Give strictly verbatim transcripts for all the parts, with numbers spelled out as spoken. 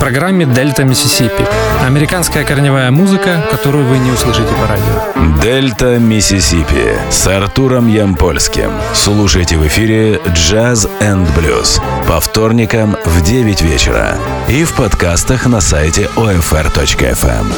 программе «Дельта Миссисипи». Американская корневая музыка, которую вы не услышите по радио. «Дельта Миссисипи» с Артуром Ямпольским. Слушайте в эфире «Джаз энд блюз» по вторникам в девять вечера и в подкастах на сайте о эф эр точка эф эм.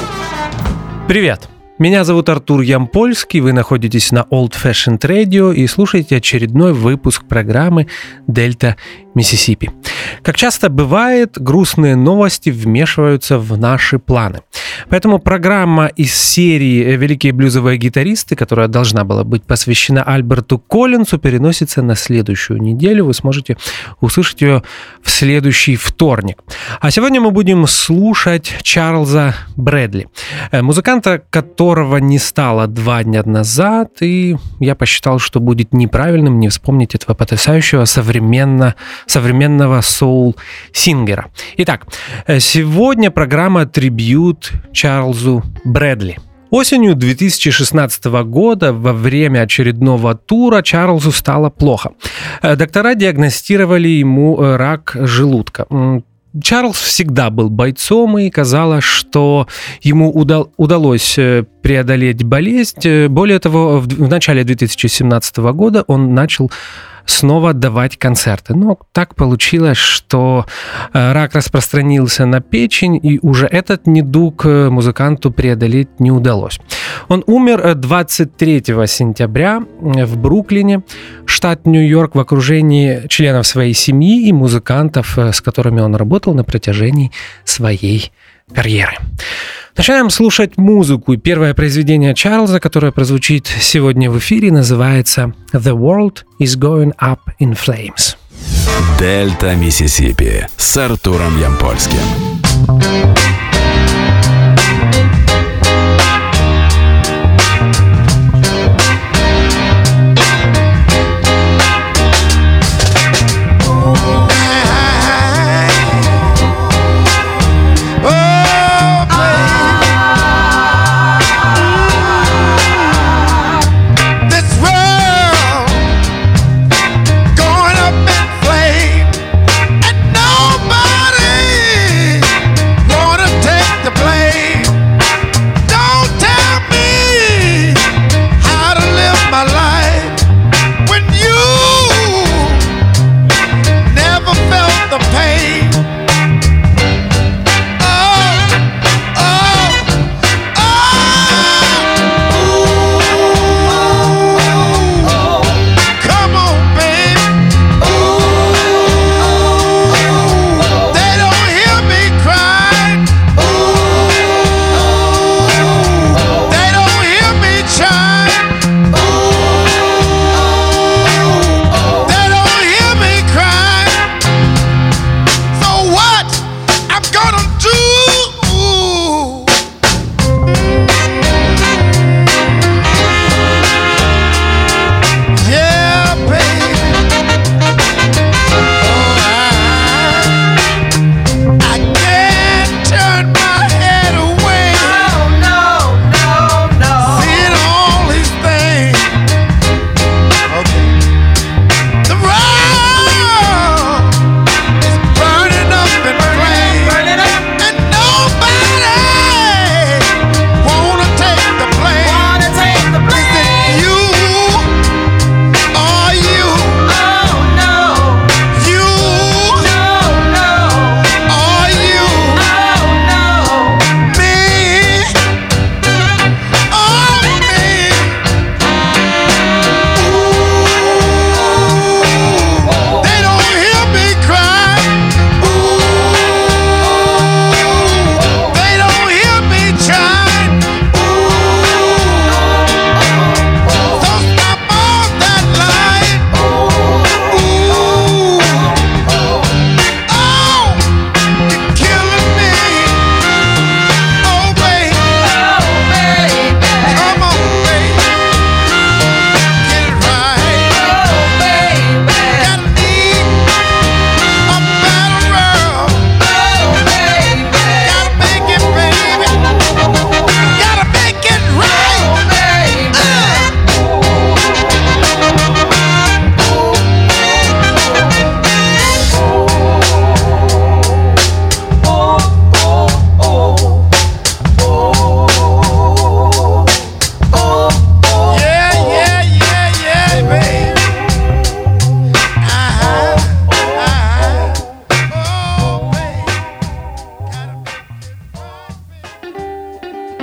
Привет! Меня зовут Артур Ямпольский, вы находитесь на Old Fashioned Radio и слушаете очередной выпуск программы «Дельта Миссисипи». Как часто бывает, грустные новости вмешиваются в наши планы. Поэтому программа из серии «Великие блюзовые гитаристы», которая должна была быть посвящена Альберту Коллинсу, переносится на следующую неделю. Вы сможете услышать ее в следующий вторник. А сегодня мы будем слушать Чарльза Брэдли, музыканта, которого не стало два дня назад, и я посчитал, что будет неправильным не вспомнить этого потрясающего современно, современного соул-сингера. Итак, сегодня программа «Трибьют Чарльзу Брэдли». Осенью две тысячи шестнадцатого года во время очередного тура Чарльзу стало плохо. Доктора диагностировали ему рак желудка. Чарльз всегда был бойцом, и казалось, что ему удал, удалось преодолеть болезнь. Более того, в, в начале две тысячи семнадцатого года он начал снова давать концерты. Но так получилось, что рак распространился на печень, и уже этот недуг музыканту преодолеть не удалось. Он умер двадцать третьего сентября в Бруклине, штат Нью-Йорк, в окружении членов своей семьи и музыкантов, с которыми он работал на протяжении своей карьеры. Начинаем слушать музыку. Первое произведение Чарльза, которое прозвучит сегодня в эфире, называется «The World is Going Up in Flames». «Дельта Миссисипи» с Артуром Ямпольским. Nobody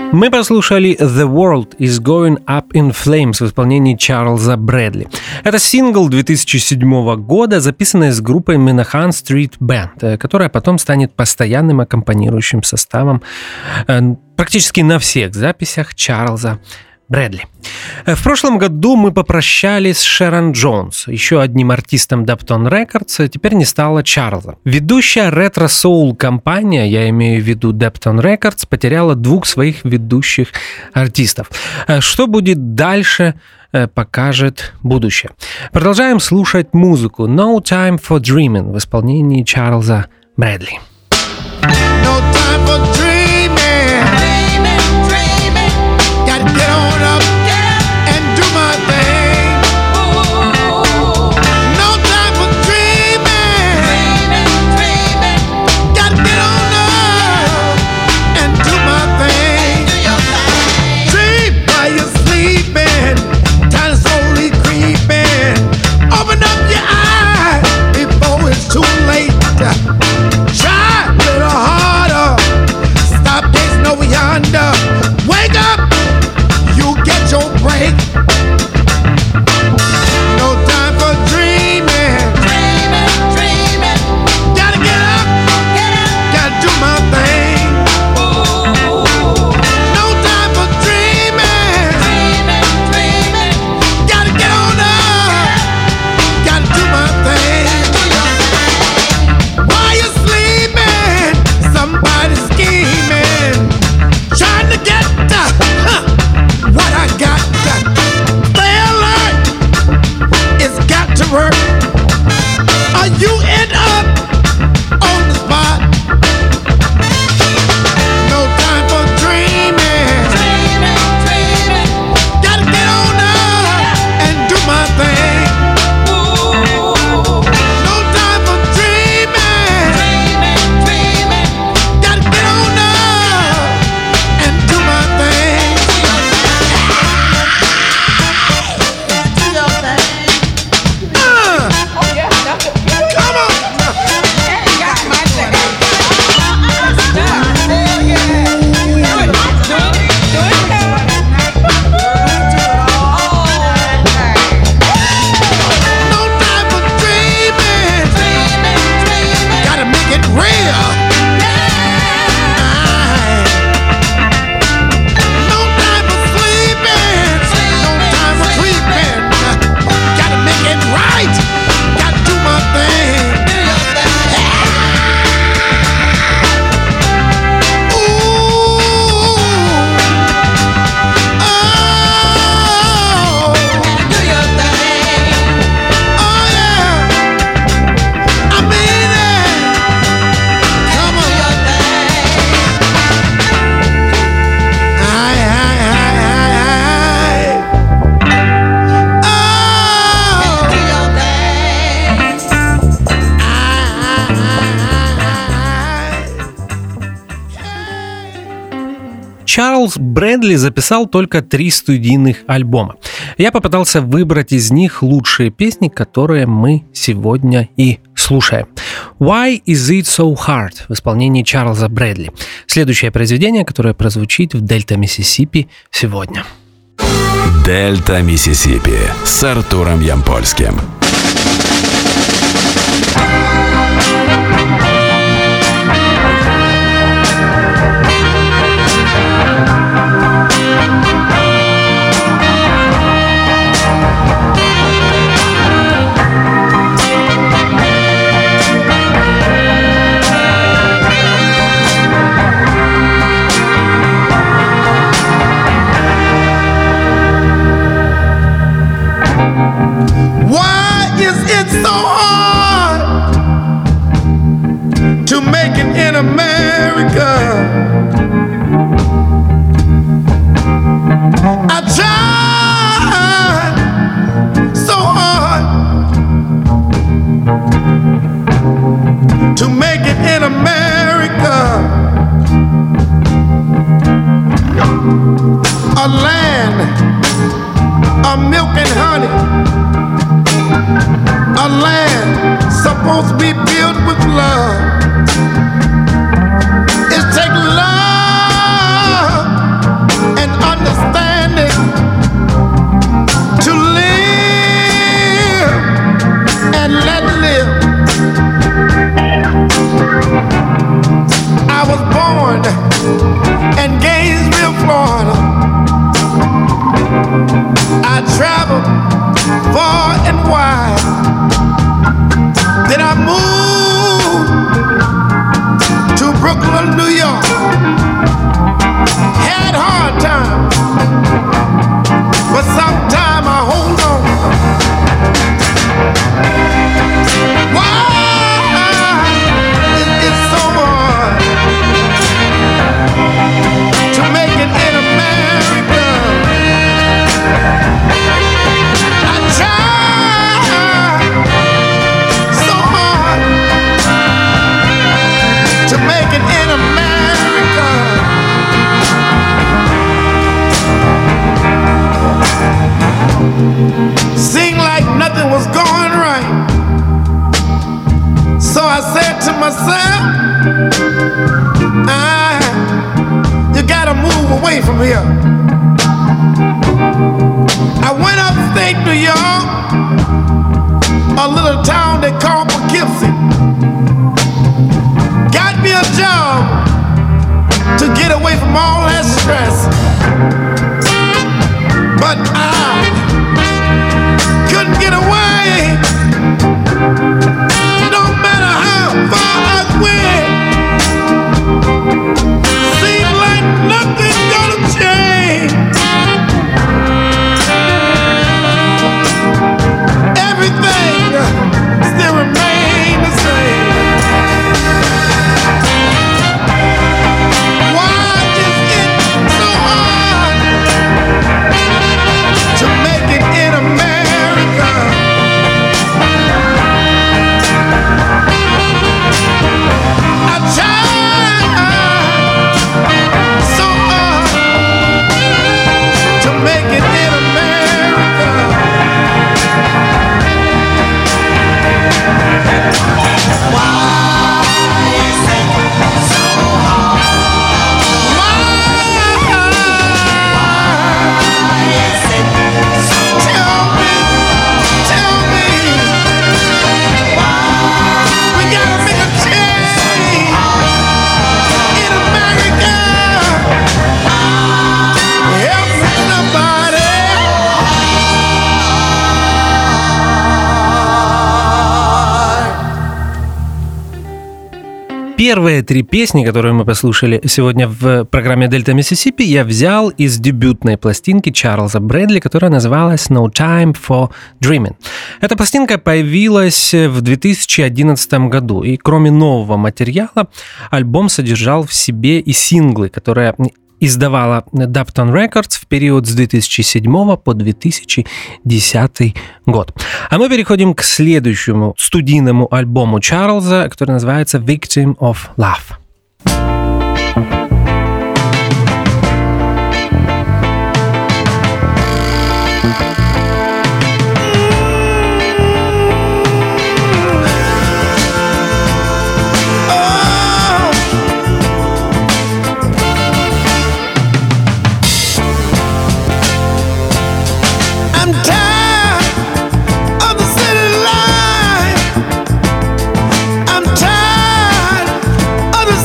Мы послушали «The World is Going Up in Flames» в исполнении Чарльза Брэдли. Это сингл две тысячи седьмого года, записанный с группой Menahan Street Band, которая потом станет постоянным аккомпанирующим составом практически на всех записях Чарльза Брэдли. В прошлом году мы попрощались с Шерон Джонс, еще одним артистом Daptone Records, теперь не стало Чарльза. Ведущая ретро-соул-компания, я имею в виду Daptone Records, потеряла двух своих ведущих артистов. Что будет дальше, покажет будущее. Продолжаем слушать музыку No Time for Dreaming в исполнении Чарльза Брэдли. No time for dreaming. Dreaming, dreaming. Gotta get on up, get up and do my thing. Ooh. No time for dreaming. Dreaming, dreaming. Gotta get on up and do my thing. Do your thing. Dream while you're sleeping. Time slowly creeping. Open up your eyes before it's too late. Try a little harder. Stop gazing over yonder. Wake up, you get your break. No time for dreaming. Dreaming, dreaming. Gotta get up, get up. Gotta do my thing. Ooh. No time for dreaming. Dreaming, dreaming. Gotta get on up. Gotta do my thing. While you're sleeping, somebody's scheming, trying to get uh, huh, what I got. Stay alert, it's got to work, or you end up on the spot. No time for dreaming. Dreaming, dreaming. Gotta get on up and do my thing. Ooh. No time for dreaming. Dreaming, dreaming. Gotta get on up and do my thing. Do your thing. Uh, Oh yeah, that's it. come on. Got my thing. Do it. Do it. Do it. No time for dreaming. Dreaming, dreaming. Gotta make it real. No time for sleeping. No time for sleeping. Gotta make it right. Gotta do my thing. Do your thing. Ooh. Oh. Do your thing. Oh yeah. I mean it. Come Do on. your thing. Aye, aye, aye, aye, aye. Oh. Do your thing. Чарльз Брэдли записал только три студийных альбома. Я попытался выбрать из них лучшие песни, которые мы сегодня и слушаем. Why is it so hard в исполнении Чарльза Брэдли. Следующее произведение, которое прозвучит в Дельта Миссисипи сегодня. Дельта Миссисипи с Артуром Ямпольским. Why is it so hard to make it in America? I tried so hard to make it in America, a land of milk and honey, a land supposed to be built with love. It takes love Ah, you gotta move away from here. I went upstate New York, a little town they call Poughkeepsie. Got me a job to get away from all that stress. But I couldn't get away. No matter how far I went, seemed like nothing's gonna change. Everything still remains the same. Why is it so hard to make it in America? I tried so hard to make it in America. Tell me, tell me, we gotta make a change in America. Help me, somebody. Первые три песни, которые мы послушали сегодня в программе «Дельта Миссисипи», я взял из дебютной пластинки Чарльза Брэдли, которая называлась «No Time for Dreaming». Эта пластинка появилась в две тысячи одиннадцатом году, и кроме нового материала, альбом содержал в себе и синглы, которые издавала Dapton Records в период с две тысячи седьмого по две тысячи десятый год. А мы переходим к следующему студийному альбому Чарльза, который называется «Victim of Love». I'm tired of the city life. I'm tired of the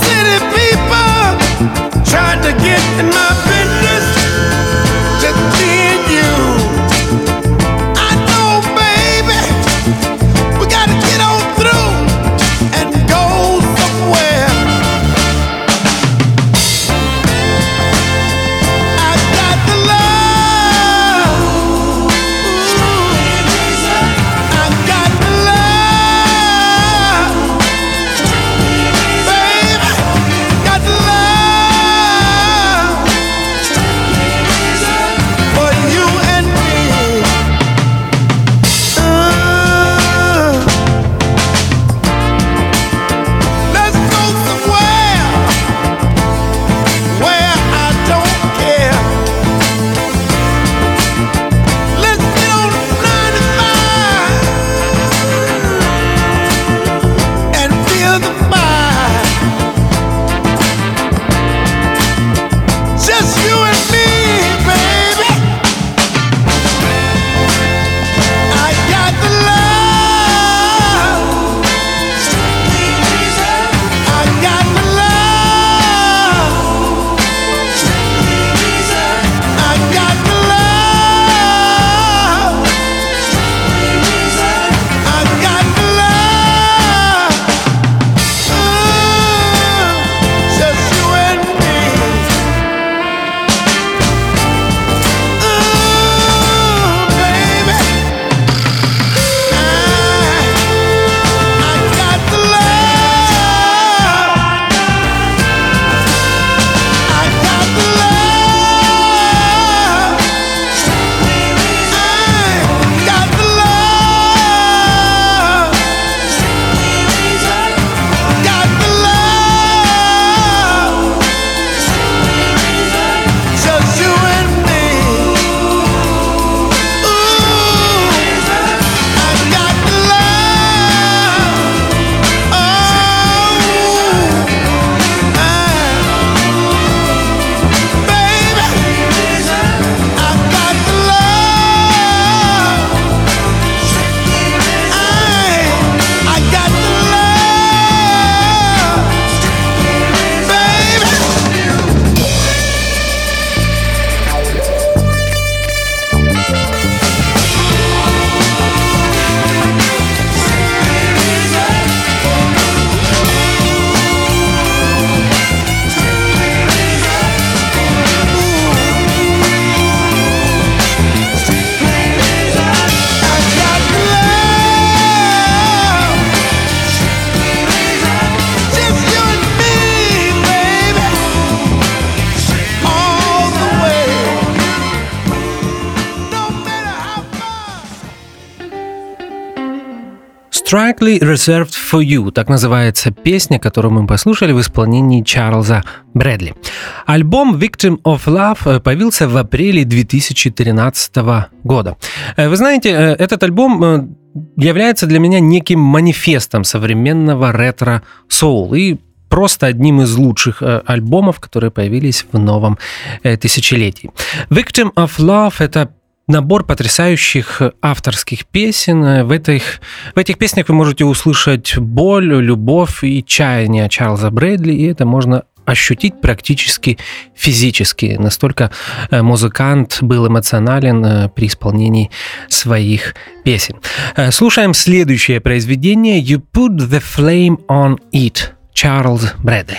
Strictly Reserved for You. Так называется песня, которую мы послушали в исполнении Чарльза Брэдли. Альбом Victim of Love появился в апреле две тысячи тринадцатого года. Вы знаете, этот альбом является для меня неким манифестом современного ретро-соул и просто одним из лучших альбомов, которые появились в новом тысячелетии. Victim of Love — это набор потрясающих авторских песен. В этих, в этих песнях вы можете услышать боль, любовь и чаяние Чарльза Брэдли, и это можно ощутить практически физически. Настолько музыкант был эмоционален при исполнении своих песен. Слушаем следующее произведение «You Put the Flame on It», Чарльз Брэдли.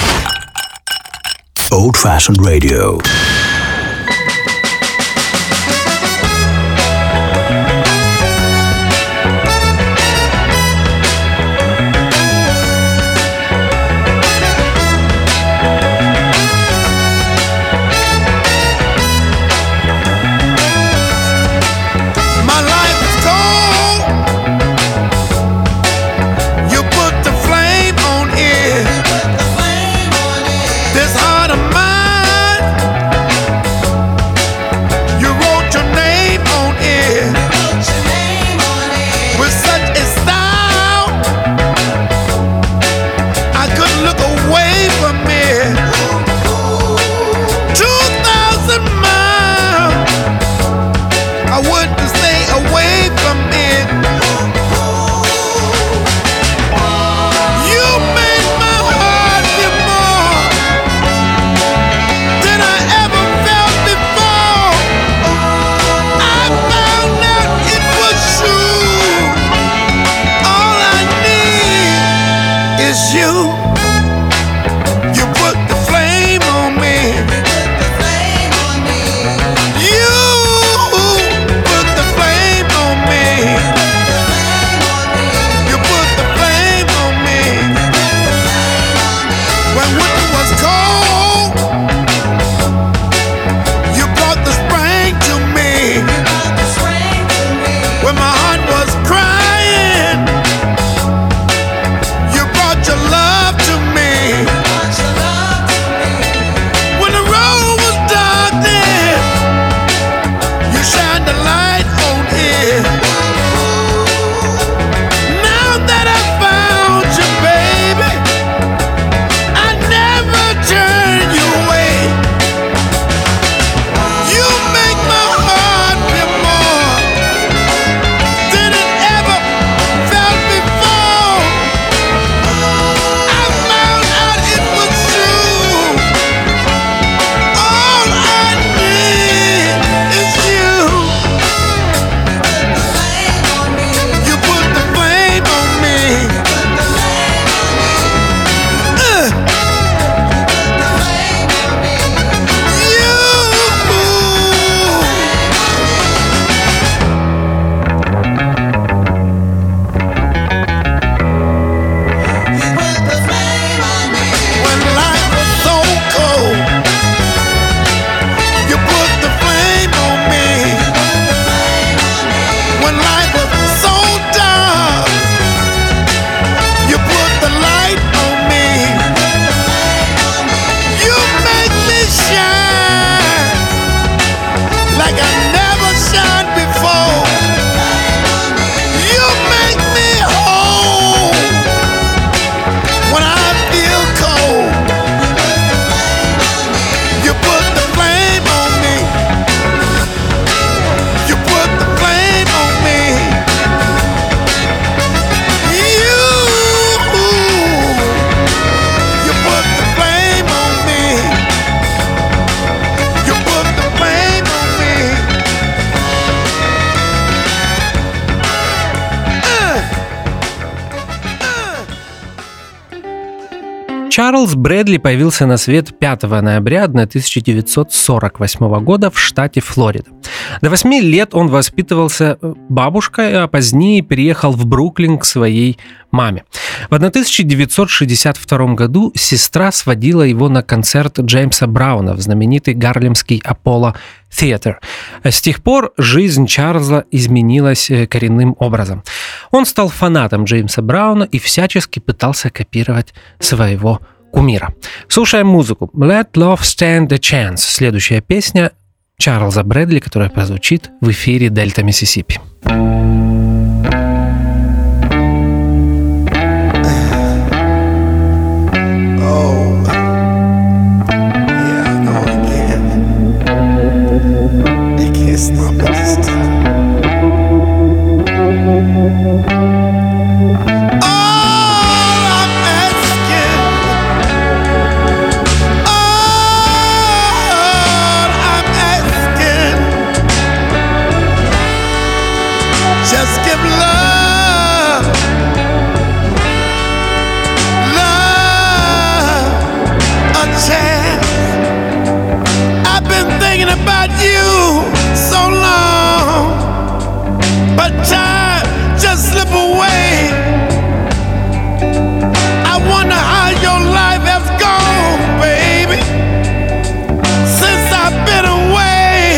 Old Fashioned Radio. Чарльз Брэдли появился на свет пятого ноября тысяча девятьсот сорок восьмого года в штате Флорида. До восьми лет он воспитывался бабушкой, а позднее переехал в Бруклин к своей маме. В тысяча девятьсот шестьдесят втором году сестра сводила его на концерт Джеймса Брауна в знаменитый гарлемский Apollo Theater. С тех пор жизнь Чарльза изменилась коренным образом. Он стал фанатом Джеймса Брауна и всячески пытался копировать своего кумира. Слушаем музыку. Let Love Stand a Chance. Следующая песня Чарльза Брэдли, которая прозвучит в эфире Дельта Миссисипи. Just give love, love a chance. I've been thinking about you so long, but time just slip away. I wonder how your life has gone, baby, since I've been away.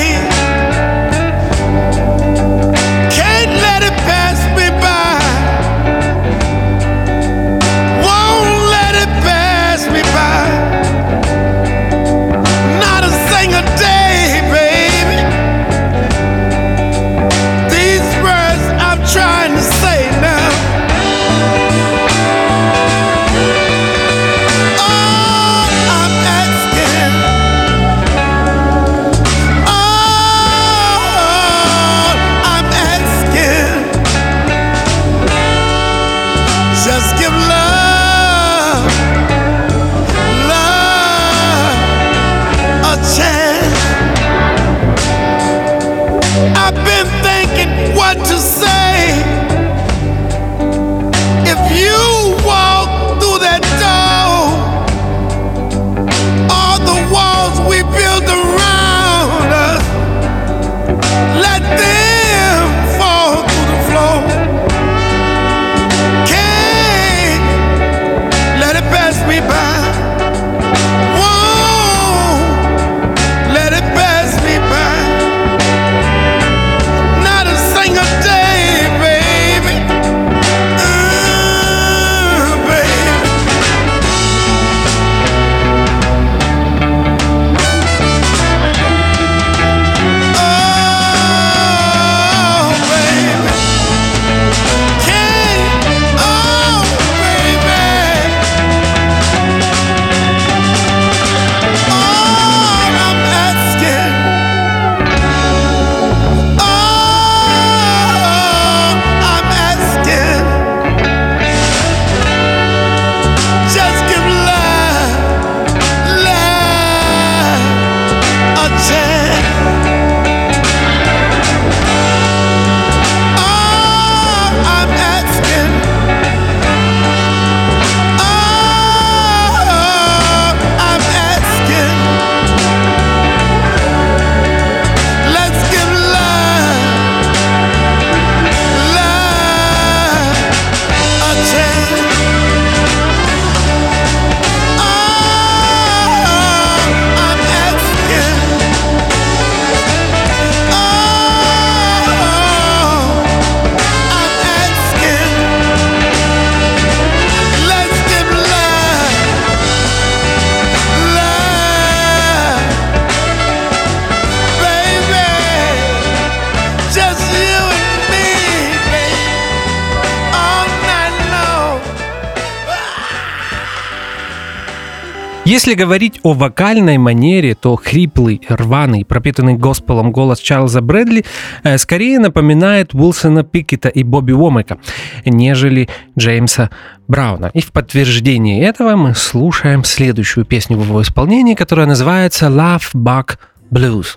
Если говорить о вокальной манере, то хриплый, рваный, пропитанный госпелом голос Чарльза Брэдли э, скорее напоминает Уилсона Пикета и Бобби Уомака, нежели Джеймса Брауна. И в подтверждение этого мы слушаем следующую песню в его исполнении, которая называется Love Bug Blues.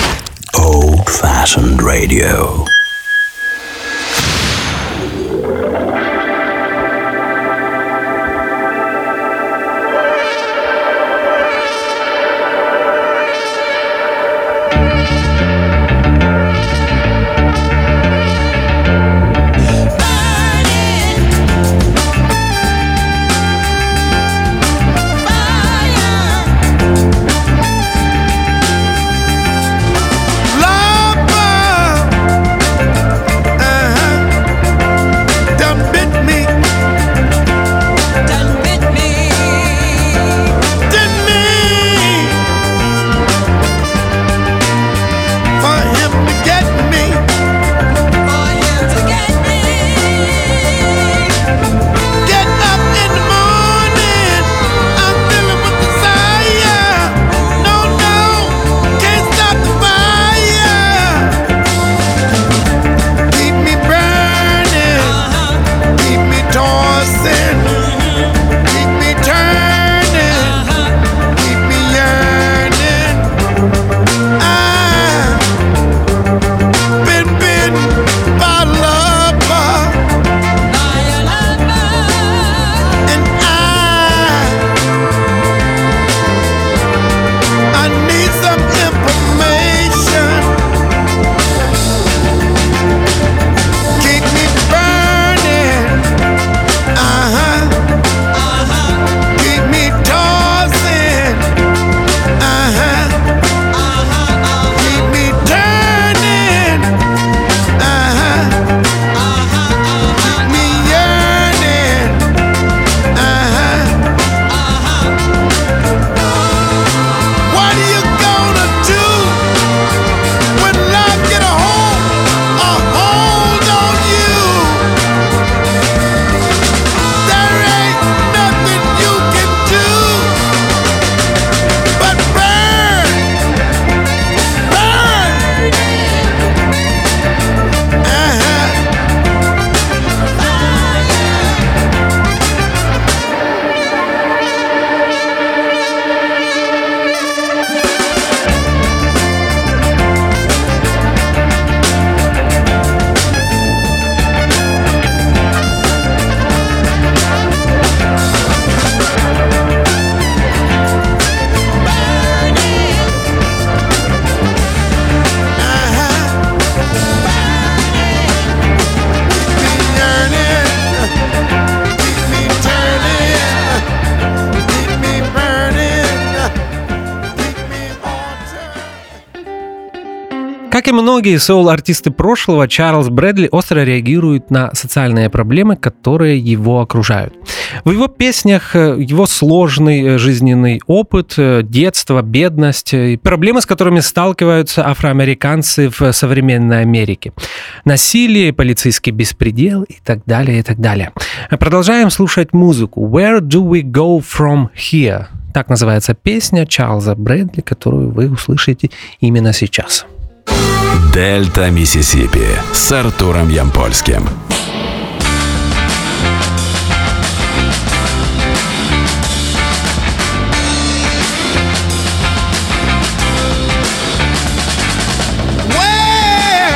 Old-fashioned radio. и многие соул-артисты прошлого, Чарльз Брэдли остро реагирует на социальные проблемы, которые его окружают. В его песнях его сложный жизненный опыт, детство, бедность и проблемы, с которыми сталкиваются афроамериканцы в современной Америке. Насилие, полицейский беспредел и так далее, и так далее. Продолжаем слушать музыку. Where do we go from here? Так называется песня Чарльза Брэдли, которую вы услышите именно сейчас. Дельта Миссисипи с Артуром Ямпольским. Where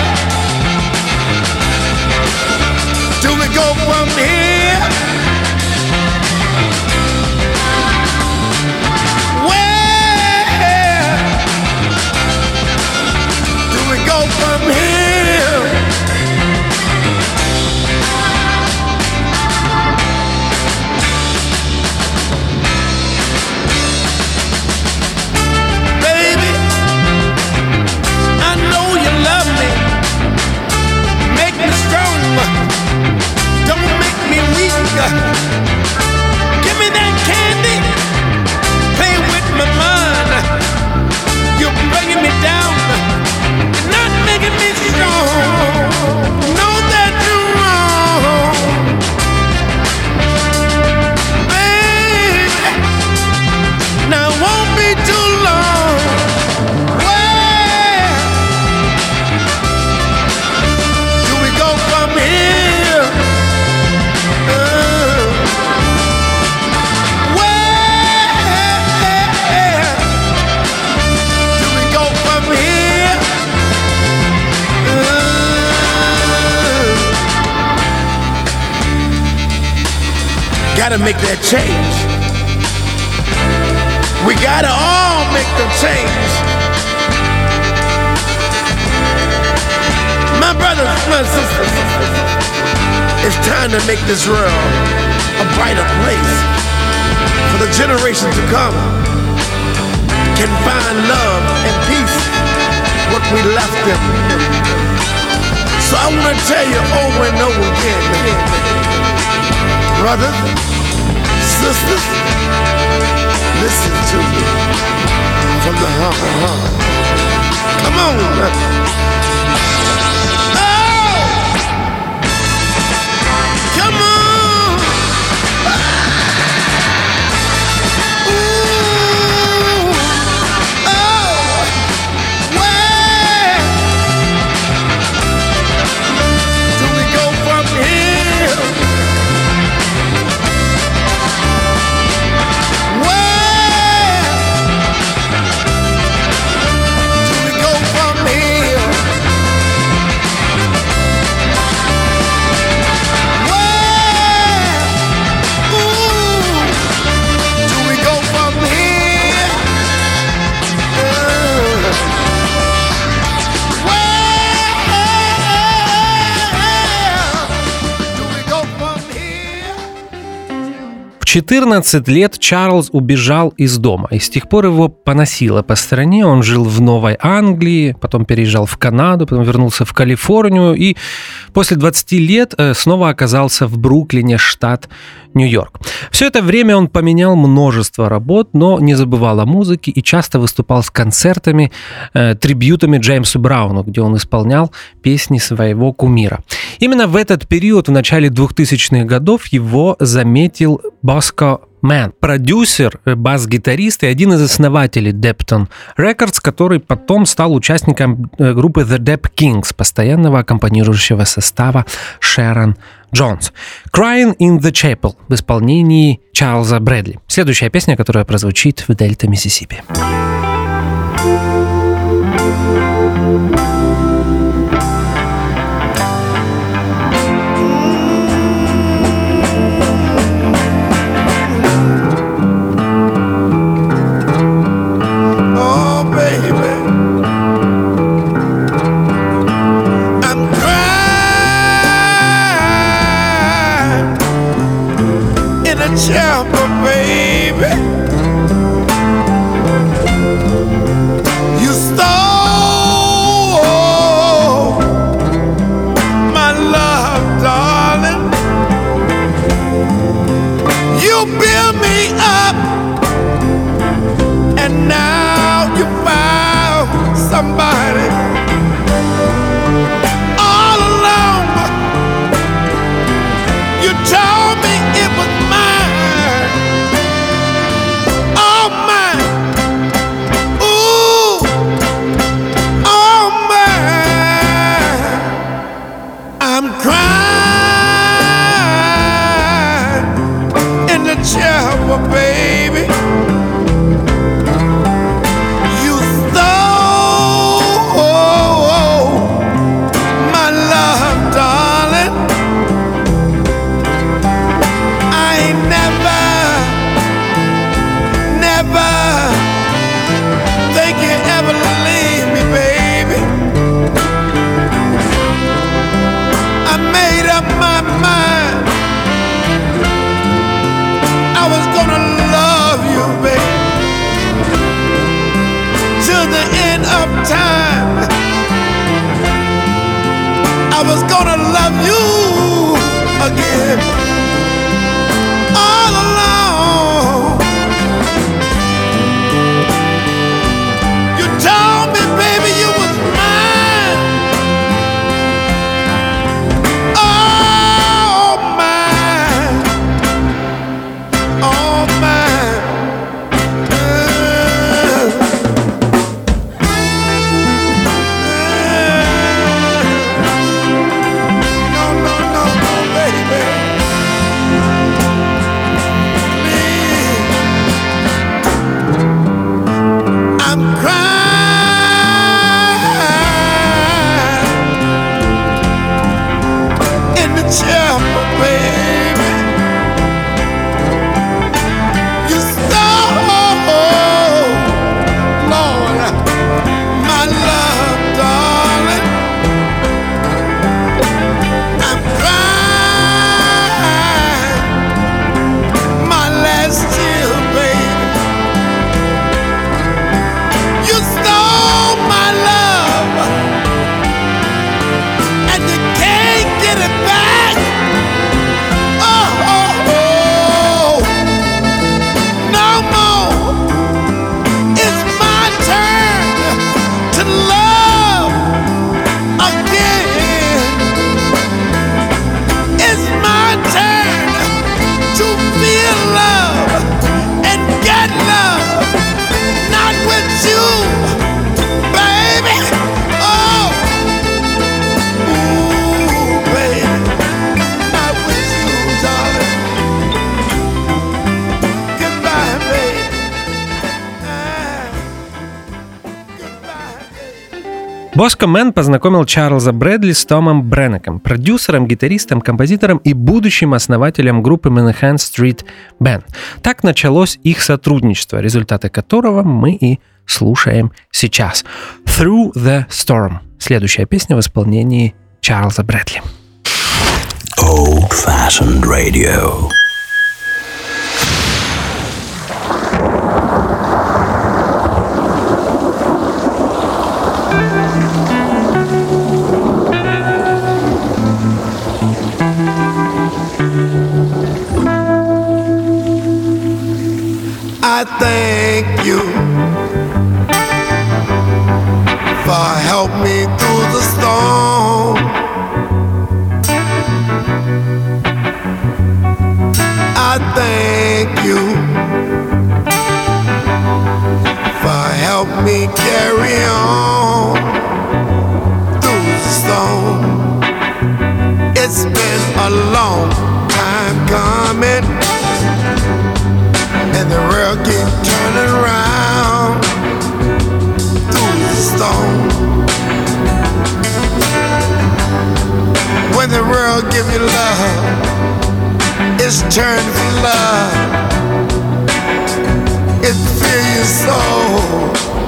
do we go from here? Where do we go from here? Baby, I know you love me. Make me strong. Don't make me weak. Give me that candy. Play with my mind. You're bringing me down. You're not making me strong. Know that you're wrong. Baby, now it won't be too long. Where do we go from here? Uh, where do we go from here? Uh, gotta make that change. We gotta all make the change. My brothers, my sisters, it's time to make this world a brighter place for the generation to come. Can find love and peace what we left them. So I want to tell you over and over again, brothers, sisters, listen to me from the heart. heart. Come on. Oh! Come on. Ooh. Oh! Where do we go from here? Where do we go from here? Where, ooh, do we go from here? Uh, where do we go from here? В четырнадцать лет Чарльз убежал из дома, и с тех пор его поносило по стране. Он жил в Новой Англии, потом переезжал в Канаду, потом вернулся в Калифорнию и после двадцати лет э, снова оказался в Бруклине, штат Нью-Йорк. Все это время он поменял множество работ, но не забывал о музыке и часто выступал с концертами, э, трибьютами Джеймсу Брауну, где он исполнял песни своего кумира. Именно в этот период, в начале двухтысячных годов, его заметил Bosco Mann, продюсер, бас-гитарист и один из основателей Depton Records, который потом стал участником группы The Dap Kings, постоянного аккомпанирующего состава Шерон Джонс. Crying in the Chapel в исполнении Чарльза Брэдли. Следующая песня, которая прозвучит в Дельта Миссисипи. Oh, baby, I'm crying in a chapel, baby. You stole Bosco Man познакомил Чарльза Брэдли с Томом Бреннеком, продюсером, гитаристом, композитором и будущим основателем группы Manhattan Street Band. Так началось их сотрудничество, результаты которого мы и слушаем сейчас. Through the Storm. Следующая песня в исполнении Чарльза Брэдли. Old-fashioned radio. I thank you for helping me through the storm. I thank you for helping me carry on through the storm. It's been a long time coming, and the world keep turning around through the storm. When the world give you love, it's turned for love. It fills your soul.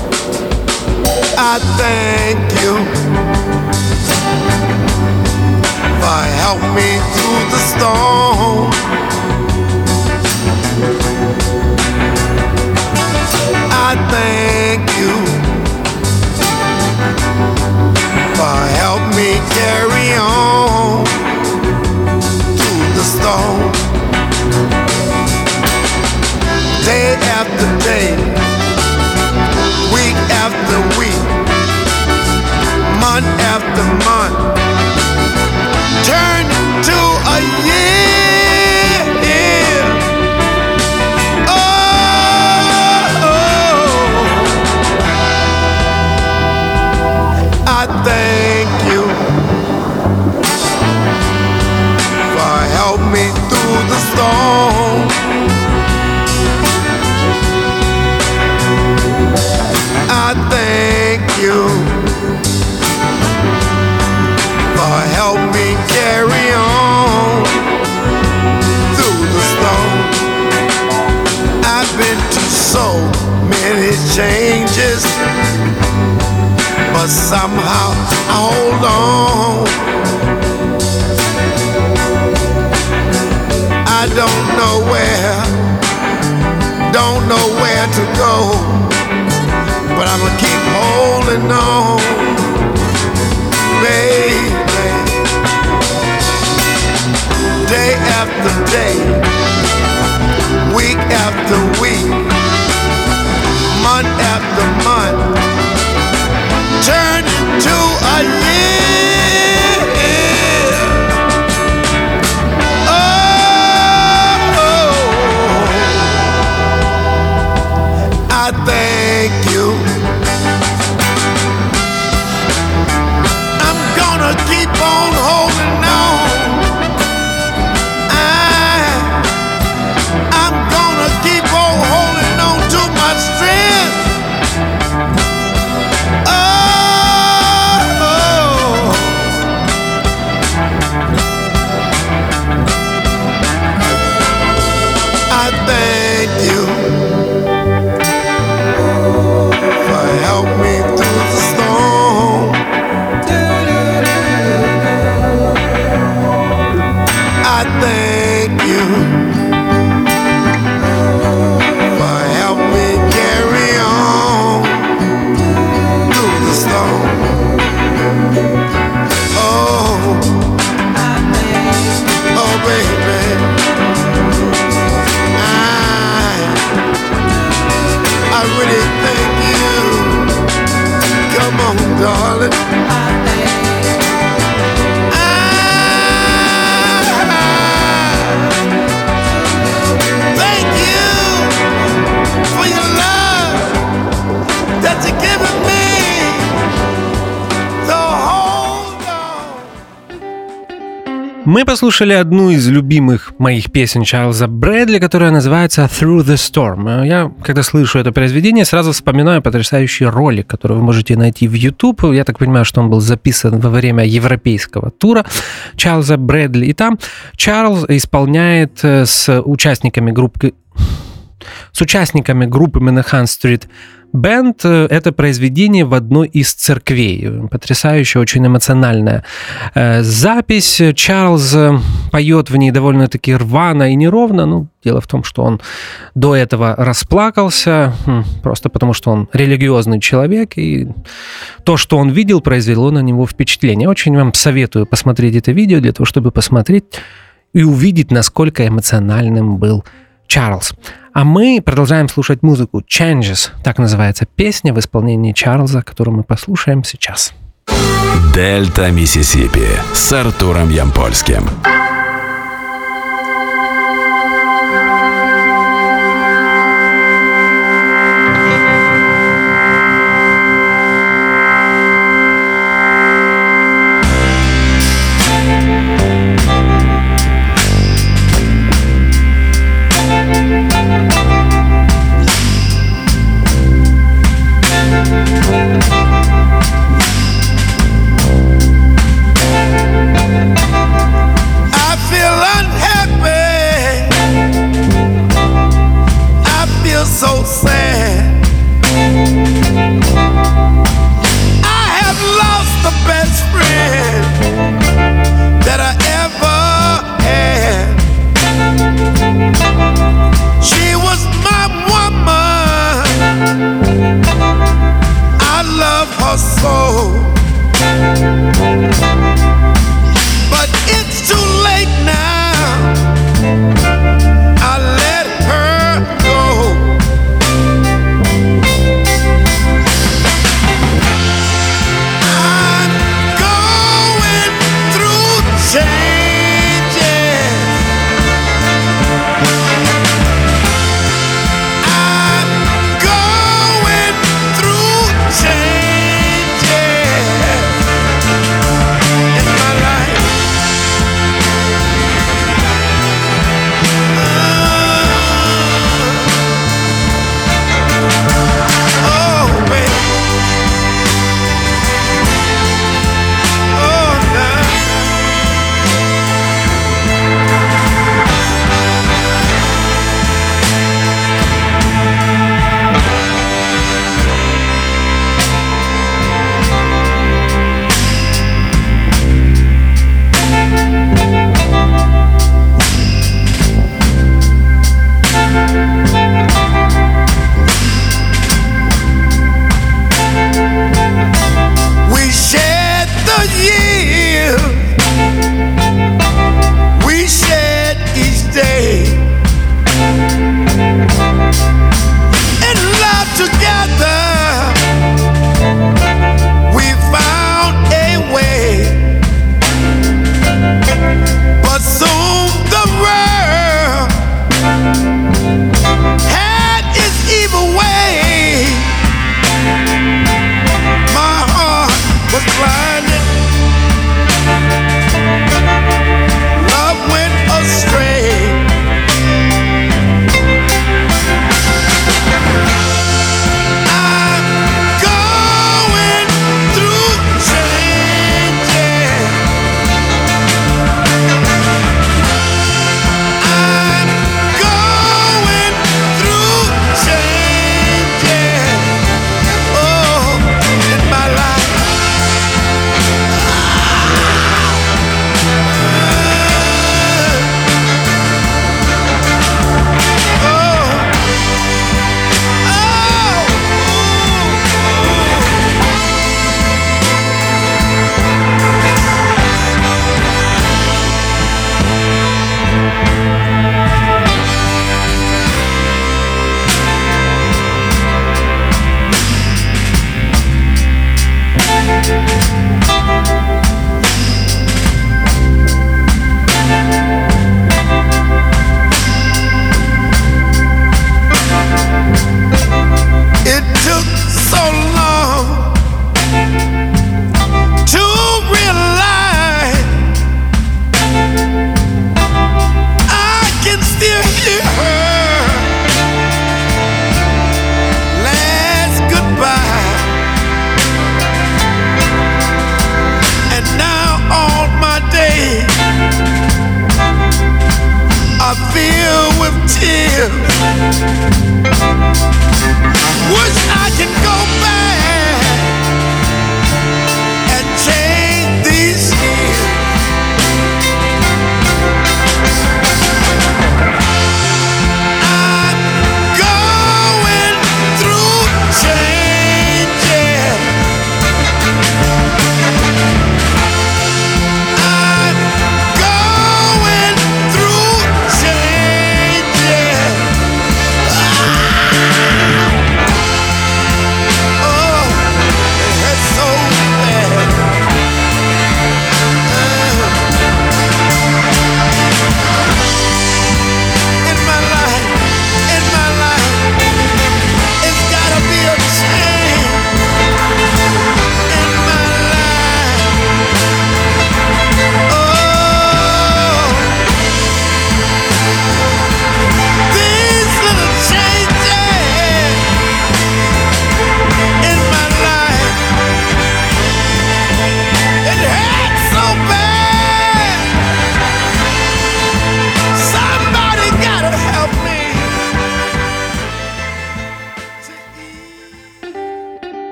I thank you for helping me through the storm. I thank you for helping me carry on through the storm. Day after day, week after week, month after month, turn to a year. I thank you for helping me through the storm. I thank you for helping me carry on through the storm. I've been through so many changes, but somehow I hold on. I don't know where, don't know where to go, but I'ma keep holding on, baby. Day after day, week after week, month after month, turn into a year. Oh, I thank you. I'm gonna keep on holding on. I, I'm gonna keep on holding on to my strength. I thank you for helping me through the storm. I thank you for helping me carry on through the storm. Oh, oh baby, I really thank you. Come on, darling. I thank you for your love that you're giving me. So hold on. Мы послушали одну из любимых моих песен Чарльза Брэдли, которая называется «Through the Storm». Я, когда слышу это произведение, сразу вспоминаю потрясающий ролик, который вы можете найти в YouTube. Я так понимаю, что он был записан во время европейского тура Чарльза Брэдли. И там Чарльз исполняет с участниками группы с участниками группы Manhattan Street Band это произведение в одной из церквей. Потрясающая, очень эмоциональная э, запись. Чарльз поет в ней довольно-таки рвано и неровно. Ну, дело в том, что он до этого расплакался, просто потому что он религиозный человек, и то, что он видел, произвело на него впечатление. Очень вам советую посмотреть это видео для того, чтобы посмотреть и увидеть, насколько эмоциональным был Чарльз. А мы продолжаем слушать музыку Changes, так называется песня в исполнении Чарльза, которую мы послушаем сейчас. Дельта Миссисипи с Артуром Ямпольским. I'm going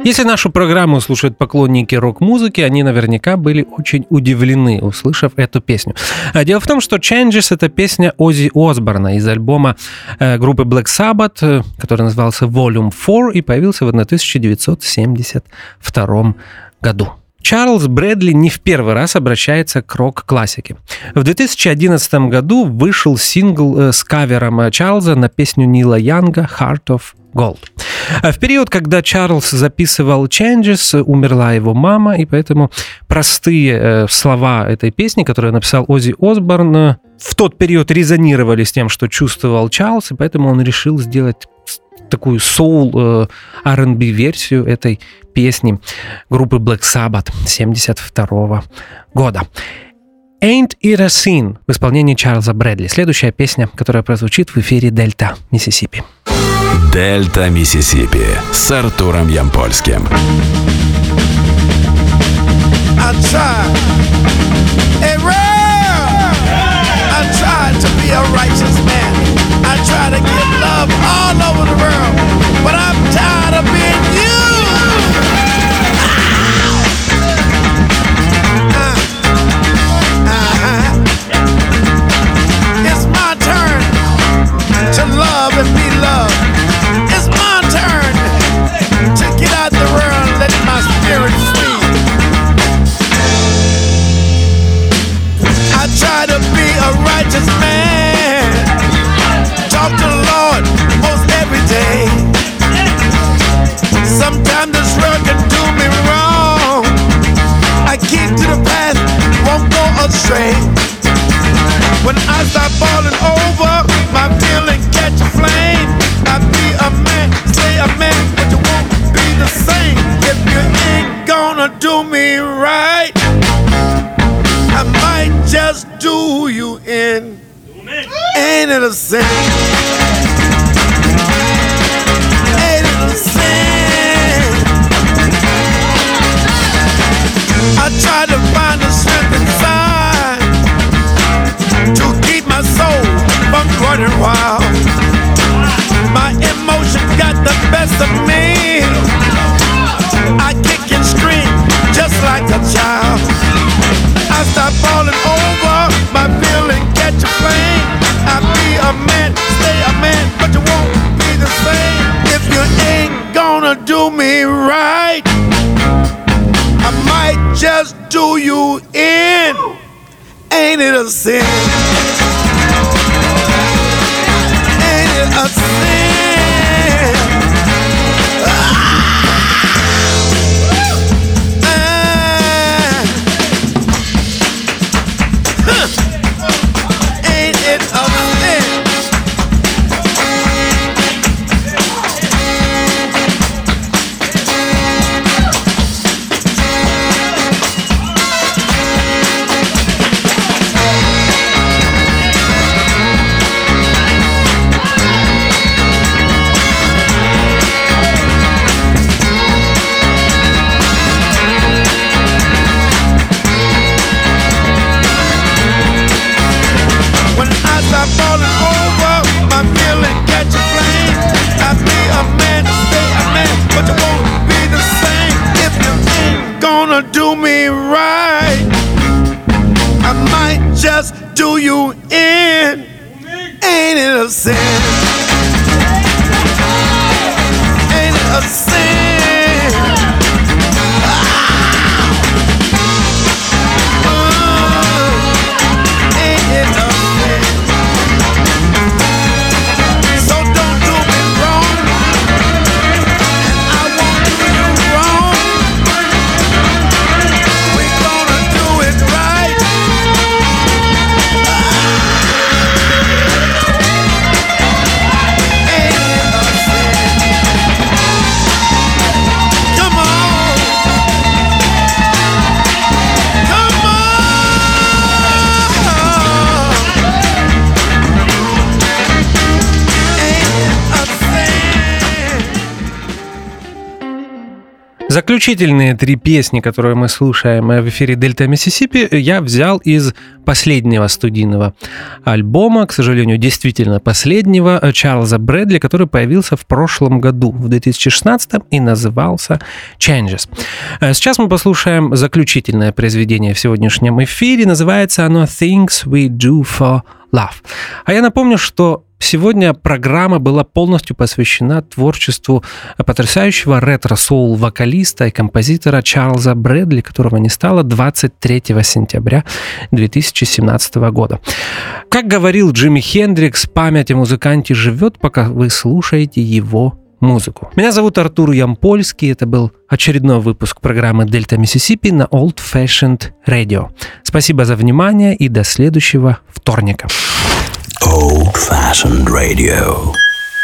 Если нашу программу слушают поклонники рок-музыки, они наверняка были очень удивлены, услышав эту песню. Дело в том, что Changes — это песня Оззи Осборна из альбома э, группы Black Sabbath, э, который назывался Volume четыре и появился в тысяча девятьсот семьдесят втором году. Чарльз Брэдли не в первый раз обращается к рок-классике. В две тысячи одиннадцатом году вышел сингл э, с кавером Чарльза на песню Нила Янга «Heart of Gold». В период, когда Чарльз записывал Changes, умерла его мама, и поэтому простые э, слова этой песни, которую написал Оззи Осборн, э, в тот период резонировали с тем, что чувствовал Чарльз, и поэтому он решил сделать такую соул э, ар энд би-версию этой песни группы Black Sabbath семьдесят второго года. «Ain't It a Sin» в исполнении Чарльза Брэдли. Следующая песня, которая прозвучит в эфире Дельта Миссисипи. Дельта Миссисипи с Артуром Ямпольским. I try, hey, real. I try to be a righteous man. I try to give love all over the world, but I'm tired of being you. Uh, uh-huh. It's my turn to love and be loved. It's my turn to get out the world and let my spirit free. I try to be a righteous man. Talk to the Lord most every day. Sometimes this world can do me wrong. I keep to the path, won't go astray. When I start falling over, my feeling catch a flame. I be a man, stay a man, but you won't be the same if you ain't gonna do me right. I might just do you in. Ain't it a sin? Ain't it a sin? I try to find the strength inside to keep my soul from running wild. My emotion got the best of me. I kick and scream just like a child. I stop falling over, my feeling catch a flame. I be a man, stay a man, but you won't be the same if you ain't gonna do me right. I might just do you in. Ain't it a sin? Ain't it a sin? Ah! Do me right, I might just do you in. Ain't it a sin? Ain't it a sin? Ah! Uh, ain't it a sin? So don't do me wrong, and I won't do you wrong. Заключительные три песни, которые мы слушаем в эфире Дельта Миссисипи, я взял из последнего студийного альбома, к сожалению, действительно последнего, Чарльза Брэдли, который появился в прошлом году, в две тысячи шестнадцатом, и назывался Changes. Сейчас мы послушаем заключительное произведение в сегодняшнем эфире. Называется оно Things We Do For Love. А я напомню, что сегодня программа была полностью посвящена творчеству потрясающего ретро-соул-вокалиста и композитора Чарльза Брэдли, которого не стало двадцать третьего сентября две тысячи семнадцатого года. Как говорил Джимми Хендрикс, память о музыканте живет, пока вы слушаете его музыку. Меня зовут Артур Ямпольский. Это был очередной выпуск программы Дельта Миссисипи на Old Fashioned Radio. Спасибо за внимание и до следующего вторника. Old Fashioned Radio.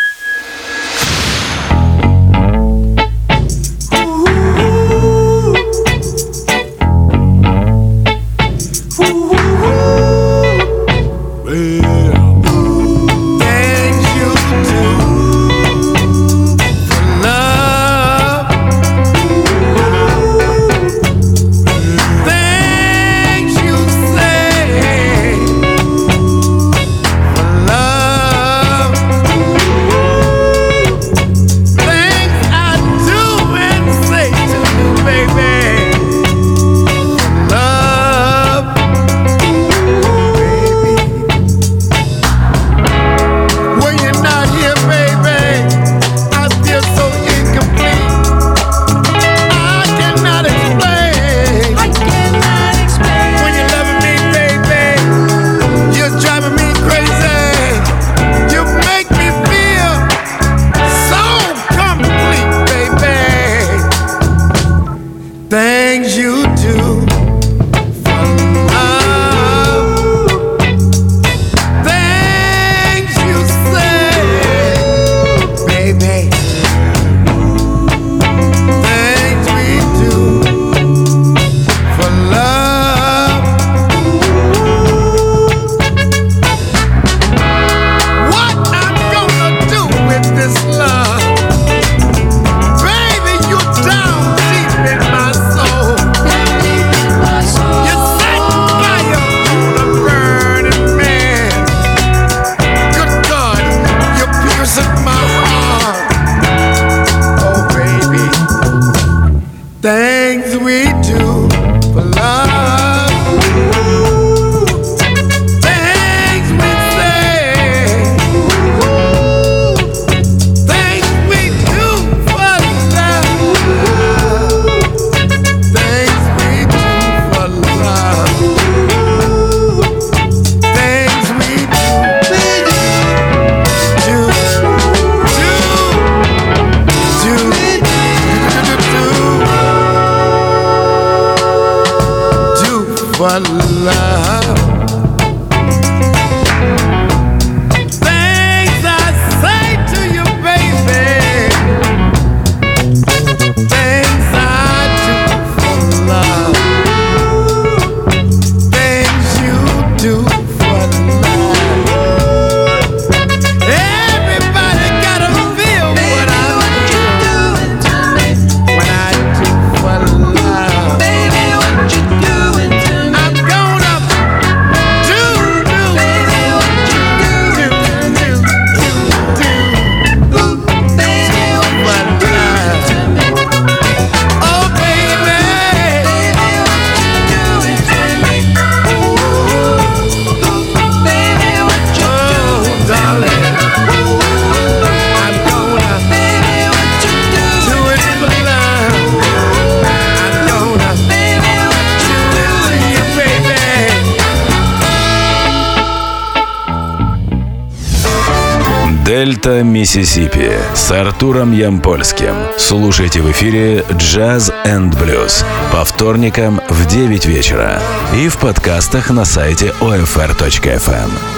Дельта Миссисипи с Артуром Ямпольским. Слушайте в эфире Jazz энд Blues по вторникам в девять вечера и в подкастах на сайте о эф эр точка эф эм.